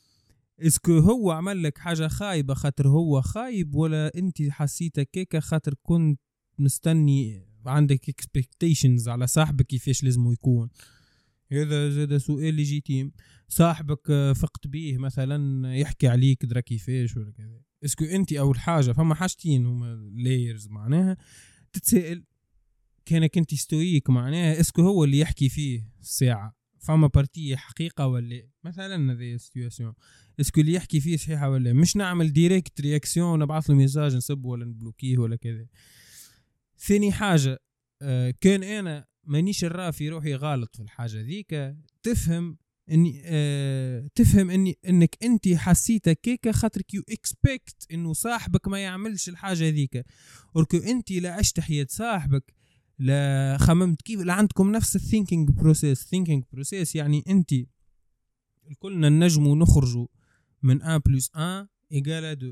اسكو هو عمل لك حاجه خايبه خاطر هو خايب، ولا انت حسيتك كيكا خاطر كنت مستني عندك اكسبكتيشنز على صاحبك كيفاش لازم يكون؟ هذا زاد سؤال ليجيتيم. صاحبك فقت بيه مثلا يحكي عليك درا كيفاش ولا كذا، اسكو انت اول حاجه فما حاجتين هما لايرز معناها تتسائل كانك انت ستويك معناها اسكو هو اللي يحكي فيه الساعه فما بارتيه حقيقه ولا مثلا هذه السيتواسيون اسكو اللي يحكي فيه صحيحه ولا مش نعمل ديريكت رياكسيون نبعث له ميساج نسب ولا نبلوكيه ولا كذا. ثاني حاجه آه كان انا مانيش نرى في روحي غلط في الحاجه ذيك، تفهم اني آه تفهم اني انك انت حسيتك كيكا خاطر كيو اكسبكت انه صاحبك ما يعملش الحاجه ذيك، وركو انت لا عشت حياه صاحبك لا خممت كيف لا عندكم نفس الثينكينج بروسيس. ثينكينج بروسيس يعني انت كلنا نجموا نخرجوا من واحد بلس واحد إيجال اثنين،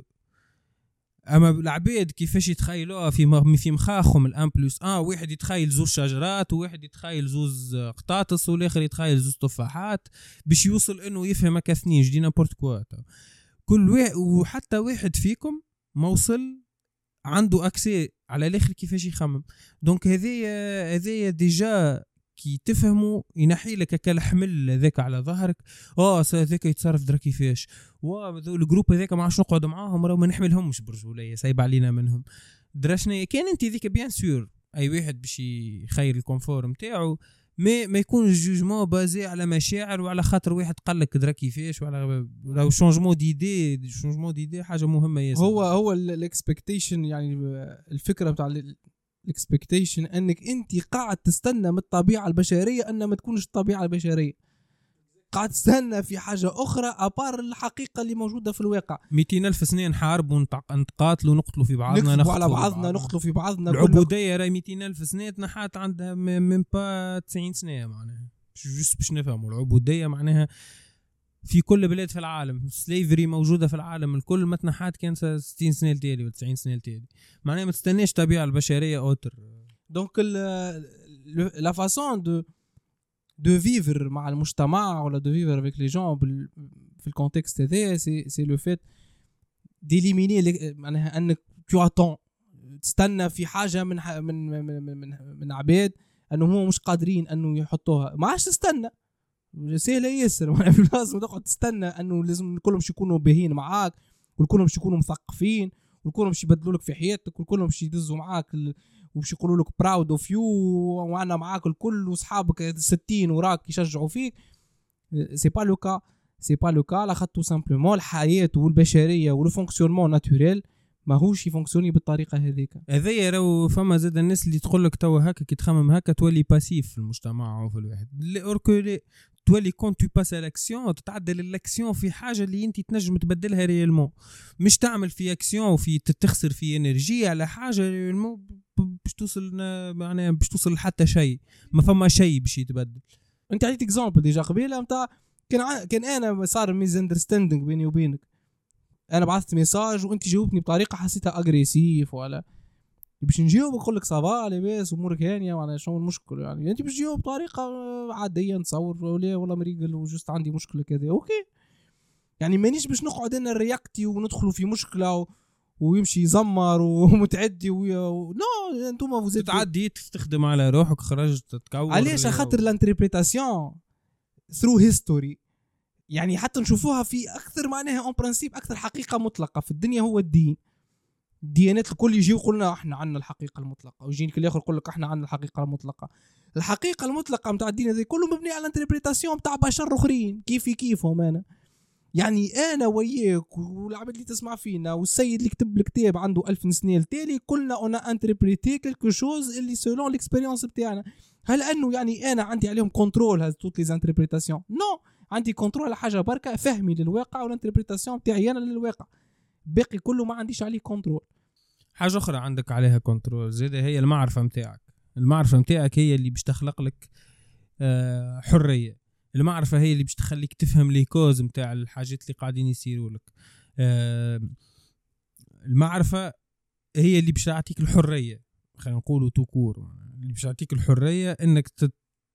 اما العباد كيفاش يتخيلوها في في مخاخهم الان بلس اه واحد يتخيل زوز شجرات وواحد يتخيل زوز قطاطس والاخر يتخيل زوز تفاحات باش يوصل انه يفهم هكا اثنين جدي نابورت كوا. كل واحد وحتى واحد فيكم ما وصل عنده اكسي على الاخر كيفاش يخمم. دونك هذه هذه ديجا كي تفهموا ينحي لك هكا الحمل هذاك على ظهرك، اه هذاك يتصرف درا كيفاش، وهذو الجروب هذاك ما عادش نقعد معاهم راه ما نحملهمش برجوليه سايب علينا منهم دراشنا. كان انت ذيك بيان سور اي واحد باش يخير الكونفور نتاعو ما ما يكون الجوجمون بازي على مشاعر وعلى خاطر واحد قال لك درا كيفاش وعلى لو شونجمون ديدي. شونجمون ديدي حاجه مهمه ياسر. هو هو الاكسبكتيشن يعني الفكره بتاع الاكسبكتيشن انك انت قاعد تستنى من الطبيعه البشريه ان ما تكونش الطبيعه البشريه، قاعد تستنى في حاجه اخرى ابار الحقيقه اللي موجوده في الواقع. مئتين ألف سنه نحارب ونتقاتلوا ونقتلوا في بعضنا نقتلوا على بعضنا نقتلوا في بعضنا. العبوديه راهي مئتين ألف سنه تنحات عندها من با تسعين سنه معناها جوست باش نفهموا العبوديه معناها في كل بلاد في العالم. سليفري موجوده في العالم الكل ما تنحات كان ستين سنه التالي ولا تسعين سنه التالي معناها ما تستناش الطبيعه البشريه اوتر. دونك لا فاسون دو دو فيفر مع المجتمع ولا دو فيفر افيك لي جون في الكونتكست هذا سي سي لو فيت ديليميني معناها انك تو اتون تستنى في حاجه من من من من, من عباد انه هم مش قادرين انه يحطوها. ما عادش تستنى سهله ياسر لازم تقعد تستنى انه لازم كلهم باش يكونوا باهين معاك والكلهم باش يكونوا مثقفين والكلهم باش يبدلوا لك في حياتك والكلهم باش يدزوا معاك ال... وباش يقولوا لك براود اوف يو وانا معاك الكل واصحابك ستين وراك يشجعوا فيك. سي با لو كا سي با لو كا لاخاطر تو سامبلومون الحياه والبشريه ولو فونكسيونمون ناتوريل ماهوش يفونكسيوني بالطريقه هذيك. هذايا راهو فما زاد الناس اللي تقول لك توا هكا كي تخمم هكا تولي باسيف في المجتمع وفي الواحد اوركو تولي كون تو باس الاكسيون تتعدل الاكسيون في حاجه اللي انت تنجم تبدلها ريالمون، مش تعمل في اكسيون وفي تتخسر في انرجي على حاجه ريالمون باش توصل معناها باش توصل لحتى شيء ما فما شيء باش يتبدل. انت عطيت اكزامبل ديجا قبيله نتاع كان ع... كان انا صار ميز اندرستاندينغ بيني وبينك، انا بعثت ميساج وانت جاوبتني بطريقه حسيتها اغريسيف ولا باش نجاوب نقول لك صافا لاباس امورك هانيه وانا شنو المشكل يعني انت باش تجاوب بطريقه عاديه نتصور ولا ولا مريقل وجست عندي مشكله كذا اوكي يعني مانيش باش نقعد انا رياكتي وندخلوا في مشكله و... ويمشي يزمر ومتعدي و... نو انتوما فوزيت تعدي تستخدم على روحك خرجت تتكور علاش خاطر الانتربريتاسيون ثرو هيستوري يعني حتى نشوفوها في اكثر معناها اون برانسيب اكثر حقيقه مطلقه في الدنيا هو الدين. الديانات الكل يجي يقولنا احنا عندنا الحقيقه المطلقه ويجيك الاخر يقول لك احنا عندنا الحقيقه المطلقه. الحقيقه المطلقه نتاع الدين هذا كله مبني على الانتربريتاسيون نتاع بشر اخرين كيفي كيفهم انا يعني انا وياك والعباد اللي تسمع فينا والسيد اللي كتب الكتاب عنده ألف سنه التالي كلنا انا انتربريتي كلكو شوز اللي سولون ليكسبيريونس بتاعنا. هل انه يعني انا عندي عليهم كنترول هذ توت لي انتربريتاسيون؟ نو عندي كنترول على حاجه بركه فهمي للواقع والانتربريتاسيون بتاعي انا للواقع باقي كله ما عنديش عليه كنترول. حاجه اخرى عندك عليها كنترول زيد هي المعرفه نتاعك. المعرفه نتاعك هي اللي باش تخلق لك آه حريه. المعرفه هي اللي باش تخليك تفهم لي كوز نتاع الحاجات اللي قاعدين يصيروا لك. آه المعرفه هي اللي باش تعطيك الحريه خلينا نقولوا توكور اللي باش تعطيك الحريه انك تت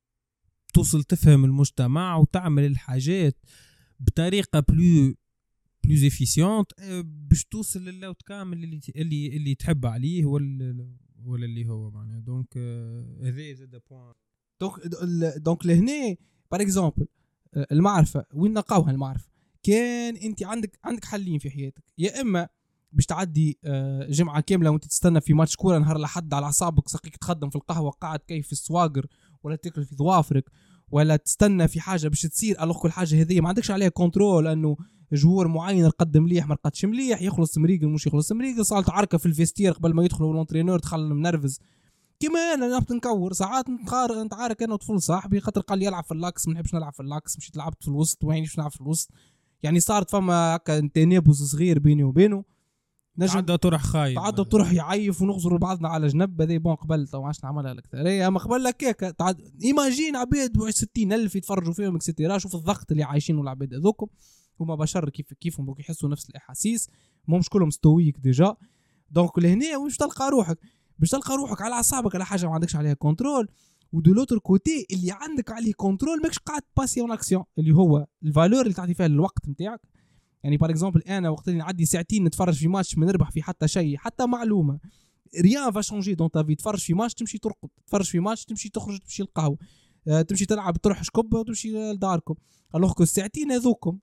توصل تفهم المجتمع وتعمل الحاجات بطريقه بلو بلوز افيسيونت باش توصل للاوت كامل اللي اللي اللي تحب عليه ولا ولا اللي هو معناها. دونك هذا زاد بوين دونك دونك لهنا بار اكزومبل المعرفه وين نلقاوها المعرفه؟ كان انت عندك عندك حلين في حياتك، يا اما باش تعدي جمعه كامله وانت تستنى في ماتش كوره نهار لحد على اعصابك سقيك تخدم في القهوه قاعد كيف في السواقر ولا تاكل في ظوافرك ولا تستنى في حاجه باش تصير الوغ كل حاجه هذه ما عندكش عليها كنترول انه جوار معين رقد مليح ما رقدش مليح يخلص مريقل مش يخلص مريقل صارت عركه في الفيستير قبل ما يدخلوا لونترينور دخل منرفز كيما انا نبت نكور ساعات نتخار نتعارك انا وطفل صاحبي خاطر قال لي العب في اللاكس ما نحبش نلعب في اللاكس مشيت لعبت في الوسط وين باش نلعب في الوسط يعني صارت فما هكا تنابز صغير بيني وبينه نجم عدى طرح خايب عدى طرح يعيف ونغزر بعضنا على جنب هذه بون قبل تو عادش نعملها لك ثريه اما قبل لك هيك تعد ايماجين عباد ستين ألف يتفرجوا فيهم اكسترا شوف الضغط اللي عايشينه العباد هذوكم هما بشر كيف كيفهم بوك يحسوا نفس الاحاسيس مش كلهم ستويك ديجا. دونك لهنا واش تلقى روحك باش تلقى روحك على اعصابك على حاجه ما عندكش عليها كنترول ودو لوتر كوتي اللي عندك عليه كنترول ماكش قاعد باسي اون اكسيون اللي هو الفالور اللي تعطي فيها الوقت نتاعك. يعني بار اكزومبل انا وقت اللي نعدي ساعتين نتفرج في ماتش ما نربح في حتى شيء حتى معلومه ريان فا شونجي دون تا في تفرج في ماتش تمشي ترقد تفرج في ماتش تمشي تخرج تمشي القهوه أه تمشي تلعب تروح شكب وتمشي لداركم. الوغ كو الساعتين هذوكم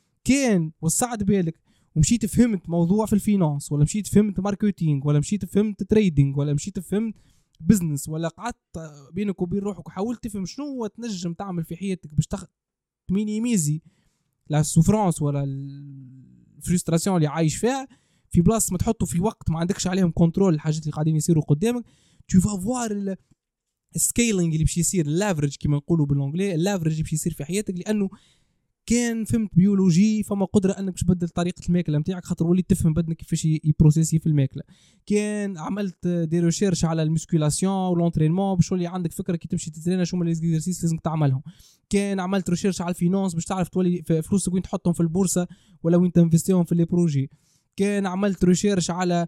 كان وسعت بالك ومشيت فهمت موضوع في الفينانس ولا مشيت فهمت ماركتينج ولا مشيت فهمت تريدينج ولا مشيت فهمت بزنس ولا قعدت بينك وبين روحك وحاولت تفهم شنو هو تنجم تعمل في حياتك باش تخ... تمينيميزي لا سوفرانس ولا الفرستراسيون اللي عايش فيها في بلاصه ما تحطه في وقت ما عندكش عليهم كنترول الحاجات اللي قاعدين يصيروا قدامك تو فافوار السكيلينج اللي باش يصير اللافرج كما نقولوا بالانجلي اللافرج اللي باش يصير في حياتك لانه كان فهمت بيولوجي فما قدره انك باش تبدل طريقه الماكله نتاعك خاطر وليت تفهم بدنك كيفاش يبروسيسي في الماكله. كان عملت دي ريشيرش على المسكولاسيون والونترينمون باش تولي عندك فكره كي تمشي تترينا شو هما لي اكزرسيس لازم تعملهم. كان عملت ريشيرش على الفينانس باش تعرف تولي فلوسك وين تحطهم في البورصه ولا وين تنفستيهم في لي بروجي. كان عملت ريشيرش على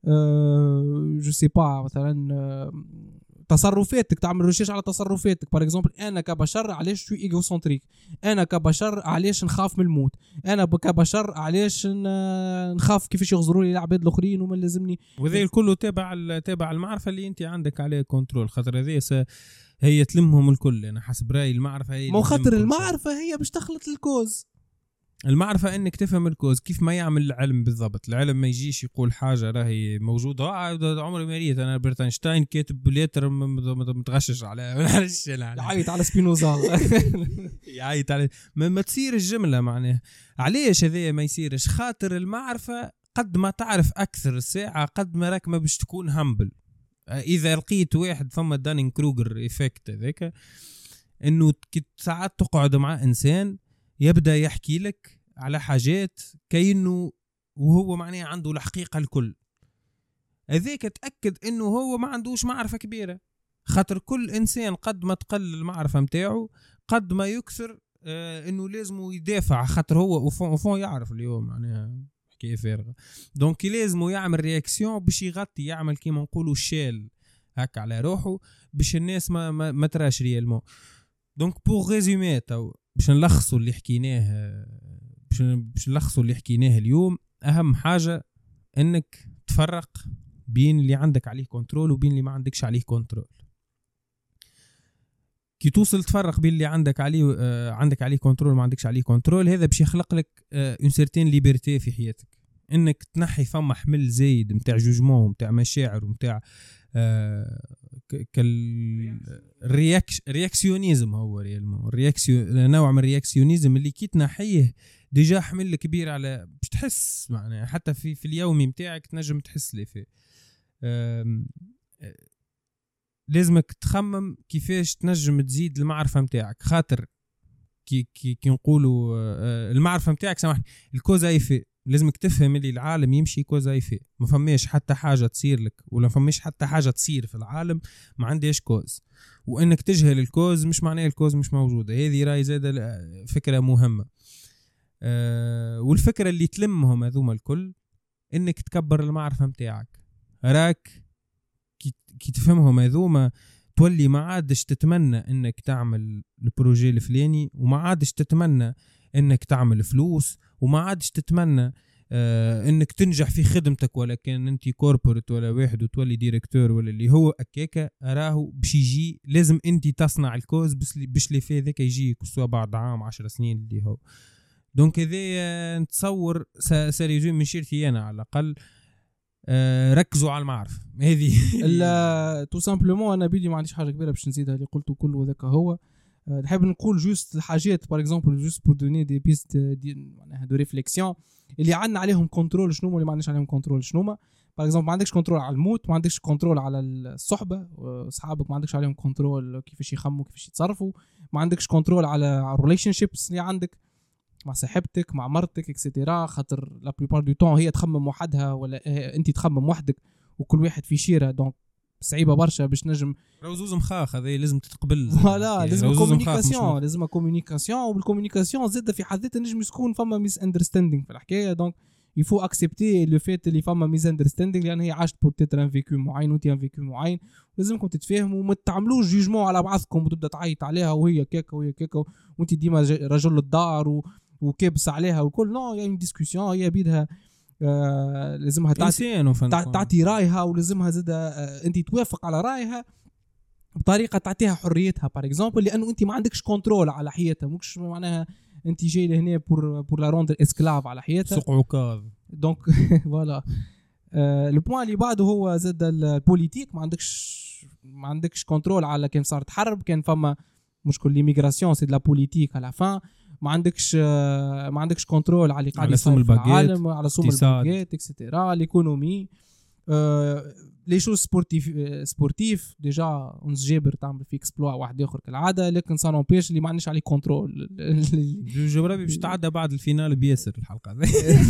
أه جو سي با مثلا أه تصرفاتك تعمل ريشيرش على تصرفاتك بار اكزومبل انا كبشر علاش شوي ايغوسنتريك انا كبشر علاش نخاف من الموت انا كبشر علاش نخاف كيفاش يغزروا لي العباد الاخرين وما لازمني وذي كله تابع تابع المعرفه اللي انت عندك عليه كنترول خاطر هذه هي تلمهم الكل انا حسب رايي المعرفه هي مو خاطر المعرفه هي باش تخلط الكوز المعرفة انك تفهم الكوز كيف ما يعمل العلم بالضبط. العلم ما يجيش يقول حاجة راهي موجودة آه عمري ما ريت انا برتنشتاين كاتب بليتر متغشش على معلش يعيط على سبينوزا يعيط على ما, ما تصير الجملة معناها. علاش هذا ما يصيرش؟ خاطر المعرفة قد ما تعرف اكثر الساعة قد ما راك ما باش تكون همبل. اذا لقيت واحد ثم دانين كروجر ايفكت هذاك انه ساعات تقعد مع انسان يبدأ يحكي لك على حاجات كأنه وهو معناه عنده الحقيقة الكل. هذاك تأكد انه هو ما عندوش معرفة كبيرة. خاطر كل انسان قد ما تقل المعرفة متاعه قد ما يكثر آه انه لازم يدافع. خاطر هو وفون يعرف اليوم معناها حكاية فارغة. دونك لازم يعمل رياكسيون باش يغطي يعمل كيما نقولوا شال هكا على روحه باش الناس ما ما, ما تراش ريالمون. دونك بور ريزومي تو باش نلخصوا اللي حكيناه باش باش نلخصوا اللي حكيناه اليوم. اهم حاجه انك تفرق بين اللي عندك عليه كنترول وبين اللي ما عندكش عليه كنترول. كي توصل تفرق بين اللي عندك عليه آه عندك عليه كنترول وما عندكش عليه كنترول هذا باش يخلق لك اون سيرتين ليبرتي في حياتك. انك تنحي فما حمل زايد نتاع جوجمون نتاع مشاعر ونتاع آه كالرياكش رياكسيونيزم. هو ريالمون رياكسيون نوع من الرياكسيونيزم اللي كي تنحيه ديجا حمل كبير على باش تحس معناها حتى في في اليومي متاعك تنجم تحس لي فيه. لازمك تخمم كيفاش تنجم تزيد المعرفة متاعك. خاطر كي كي, كي نقولوا المعرفة متاعك سامحني الكوزا يفي لازمك تفهم اللي العالم يمشي كوزا يفي. ما فماش حتى حاجة تصير لك ولا فماش حتى حاجة تصير في العالم ما عندهاش كوز. وانك تجهل الكوز مش معناه الكوز مش موجودة. هذه راي زادة فكرة مهمة. أه والفكرة اللي تلمهم هذوما الكل انك تكبر المعرفة متاعك. راك كي, كي تفهمهم هذوما تولي ما عادش تتمنى انك تعمل البروجي الفلاني وما عادش تتمنى انك تعمل فلوس وما عادش تتمنى آه انك تنجح في خدمتك ولا كان انت كوربوريت ولا واحد وتولي ديريكتور ولا اللي هو اكاكا. راهو باش يجي لازم انت تصنع الكوز باش اللي في ذاك يجي كسوا بعد عام عشر سنين اللي هو. دونك هذا نتصور ساريزوم من شيرتي انا على الاقل آه ركزوا على المعرفة هذه. لا تو سامبلومون انا بيدي ما عنديش حاجه كبيره باش نزيدها اللي قلته كله ذاك هو. نحب نقول جوست الحاجات باغ اكزومبل جوست بور دوني دي بيست دي معناها دو ريفليكسيون اللي عندنا عليهم كنترول شنو اللي ما عندناش عليهم كنترول شنو. باغ اكزومبل ما عندكش كنترول على الموت ما عندكش كنترول على الصحبه اصحابك ما عندكش عليهم كنترول كيفاش يخموا كيفاش يتصرفوا. ما عندكش كنترول على الريليشن شيبس اللي عندك مع صاحبتك مع مرتك اكسيتيرا. خاطر لا بليبار دو طون هي تخمم وحدها ولا انت تخمم وحدك وكل واحد في شيره. دونك صعيبه برشا باش نجم روزوز مخاخ هذا لازم تتقبل. فوالا لازم كومونيكاسيون لازم كومونيكاسيون وبالكومونيكاسيون زاد في حد ذاتها نجم يكون فما ميس اندرستاندينغ في الحكايه. دونك يفو اكسبتي لو فيت اللي فما ميس اندرستاندينغ لان هي عاشت بوتيتر ان فيكو معين وانت ان فيكو معين. لازمكم تتفاهموا وما تعملوش جوجمون على بعضكم وتبدا تعيط عليها وهي كيكا وهي كيكا وانت ديما رجل الدار و... وكابس عليها وكل نو يعني ديسكوسيون هي بيدها آه لازمها تعطي تعطي رايها ولازمها زاد آه انت توافق على رايها بطريقه تعطيها حريتها باغ اكزومبل لانه انت ما عندكش كنترول على حياتها. مش معناها انت جاي لهنا بور بور لا روندر اسكلاف على حياتها سوق عكاظ. دونك فوالا لو بوين اللي بعده هو زاد البوليتيك. ما عندكش ما عندكش كنترول على كان صارت حرب كان فما مشكل ليميغراسيون سي دو لا بوليتيك على فان. ما عندكش ما عندكش كنترول على اللي قاعد يصير في العالم على سوم الباجيت اكسيتيرا ليكونومي لي شو سبورتيف سبورتيف ديجا اونس جابر تعمل في اكسبلوا واحد اخر كالعاده. لكن سان امبيش اللي ما عندناش عليه كنترول. جبرابي باش تعدى بعد الفينال بياسر الحلقه هذه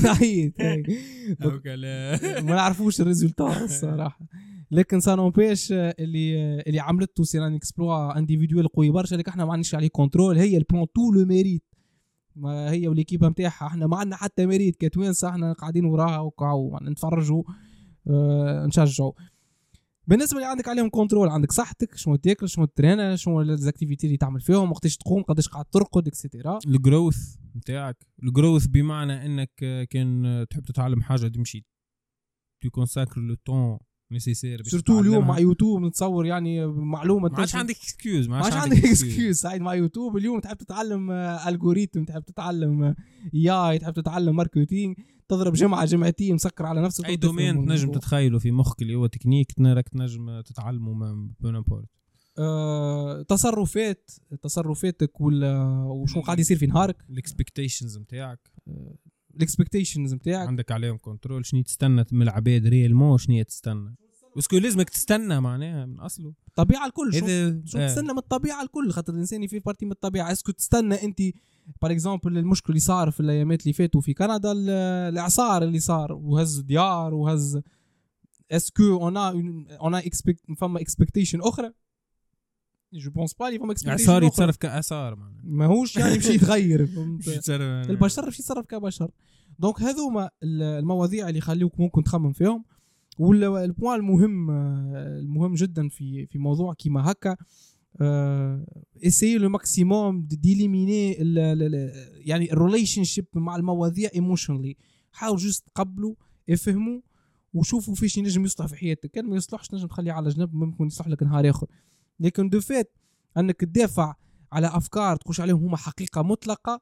ما نعرفوش الريزولتا الصراحه. لكن سان امبيش اللي اللي عملته سيران اكسبلوا انديفيدوال قوي برشا لكن احنا ما عندناش عليه كنترول. هي البلان تو لو ميريت ما هي وليكيبه نتاعها احنا ما عندنا حتى ميريت كتوانسه. احنا قاعدين وراها وقاعو نتفرجوا اه نشجعوا. بالنسبه اللي عندك عليهم كنترول عندك صحتك شنو تاكل شنو ترينا شنو الاكتيفيتي اللي تعمل فيهم وقتاش تقوم قداش قاعد ترقد اكسيتيرا. الجروث نتاعك الجروث بمعنى انك كان تحب تتعلم حاجه تمشي تو كونساكر لو طون نيسيسير. سورتو اليوم مع يوتيوب نتصور يعني معلومه ما عادش عندك اكسكيوز، ما عادش عندك اكسكيوز سعيد مع يوتيوب. اليوم تحب تتعلم الجوريثم، تحب تتعلم اي، تحب تتعلم ماركتينج، تضرب جمعه جمعتين مسكر على نفسك. اي دومين تنجم تتخيله في مخك اللي هو تكنيك راك تنجم تتعلمه بونابورت. أه تصرفات تصرفاتك ولا وشو قاعد يصير في نهارك، الاكسبكتيشنز نتاعك الاكسبكتيشنز نتاعك عندك عليهم كنترول. شنو تستنى من العباد ريال مو شنو تستنى، باسكو لازمك تستنى معناها من اصله الطبيعه الكل. شو, شو آه. تستنى من الطبيعه الكل، خاطر الانسان في بارتي من الطبيعه. اسكو تستنى انت بار اكزامبل المشكل اللي صار في الايامات اللي فاتوا في كندا، الاعصار اللي صار وهز ديار وهز، اسكو انا انا اكسبكت فما اكسبكتيشن اخرى؟ جو بونس با لي فما اكسبكتيشن اعصار يتصرف كاثار معناها ماهوش يعني مشي يتغير البشر مش يتصرف كبشر. دونك هذوما المواضيع اللي يخليوك ممكن تخمم فيهم. والبوان المهم المهم جدا في في موضوع كيما هكا، اسيي لو ماكسيموم ديليميني يعني الريليشن شيب مع المواضيع ايموشنلي. حاول جست تقبلوا افهموا وشوفوا فيش ينجم يصلح في حياتك. كان ما يصلحش تنجم تخليه على جنب، ممكن يصلح لك نهار اخر. لكن دو فات انك تدافع على افكار تخش عليهم هما حقيقه مطلقه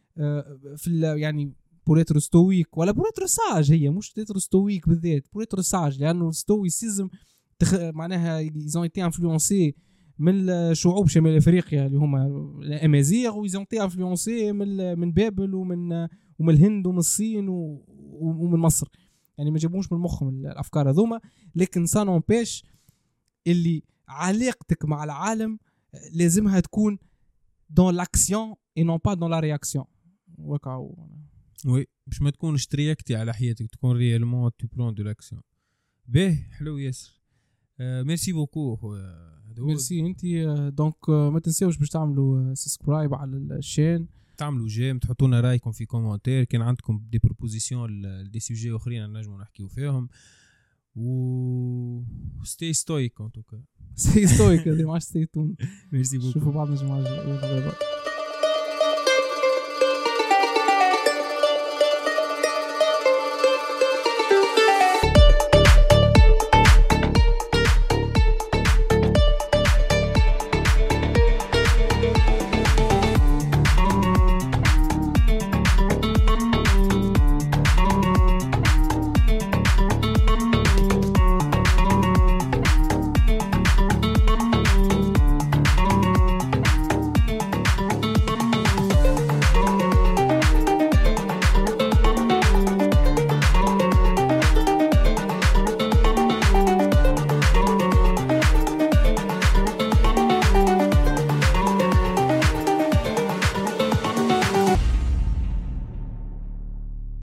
في يعني بوريتر ستويك ولا بوريتر ساج، هي مش بوريتر ستويك بالذات، بوريتر ساج، لانه الستويسيزم تخ... معناها يزون ايتي انفلونسي من شعوب شمال افريقيا اللي هما الامازيغ، ويزون ايتي انفلونسي من من بابل ومن ومن الهند ومن الصين و... ومن مصر. يعني ما جابوش من مخهم الافكار هذوما. لكن سانون بيش اللي علاقتك مع العالم لازمها تكون دون لاكسيون اي نون با دون لا رياكسيون. وكاو وي باش ما تكونش ترياكتي على حياتك، تكون ريالمون تو برون دو لاكسيون. باهي حلو ياسر. آه ميرسي بوكو خويا. ميرسي انت. دونك ما تنساوش باش تعملوا سبسكرايب على الشين، تعملوا جيم، تحطونا رايكم في كومنتير. كان عندكم دي بروبوزيسيون دي سوجي اخرين نجموا نحكيو فيهم. و ستي ستويك ان توكا. ستي ستويك هذه ماش ستي تون. ميرسي بوكو. شوفوا بعضنا الجمعه الجايه.